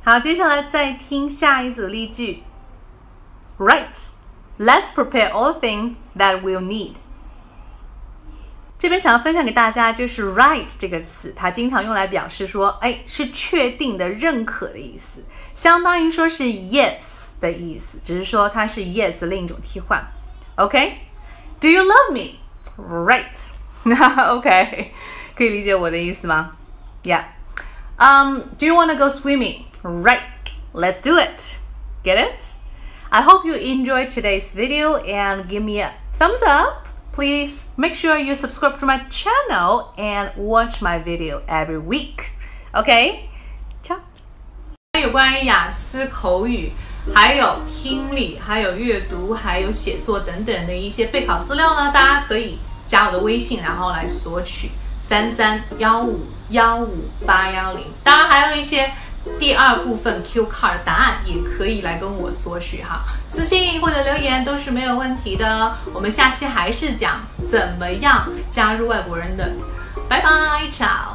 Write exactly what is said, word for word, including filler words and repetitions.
好，接下来再听下一组例句。Right, let's prepare all things that we'll need. 这边想要分享给大家就是 right 这个词，它经常用来表示说，哎，是确定的、认可的意思，相当于说是 yes 的意思，只是说它是 yes 的另一种替换。OK? Do you love me? Right. OK. 可以理解我的意思吗？ Yeah. Um, do you want to go swimming? Right. Let's do it. Get it? I hope you enjoyed today's video and give me a thumbs up. Please make sure you subscribe to my channel and watch my video every week. Okay? Ciao. 有关于雅思口语，还有听力，还有阅读，还有写作等等的一些备考资料呢，大家可以加我的微信，然后来索取三三幺五幺五八幺零。当然还有一些第二部分 Q card 答案也可以来跟我索取哈，私信或者留言都是没有问题的。我们下期还是讲怎么样加入外国人的。拜拜，ciao。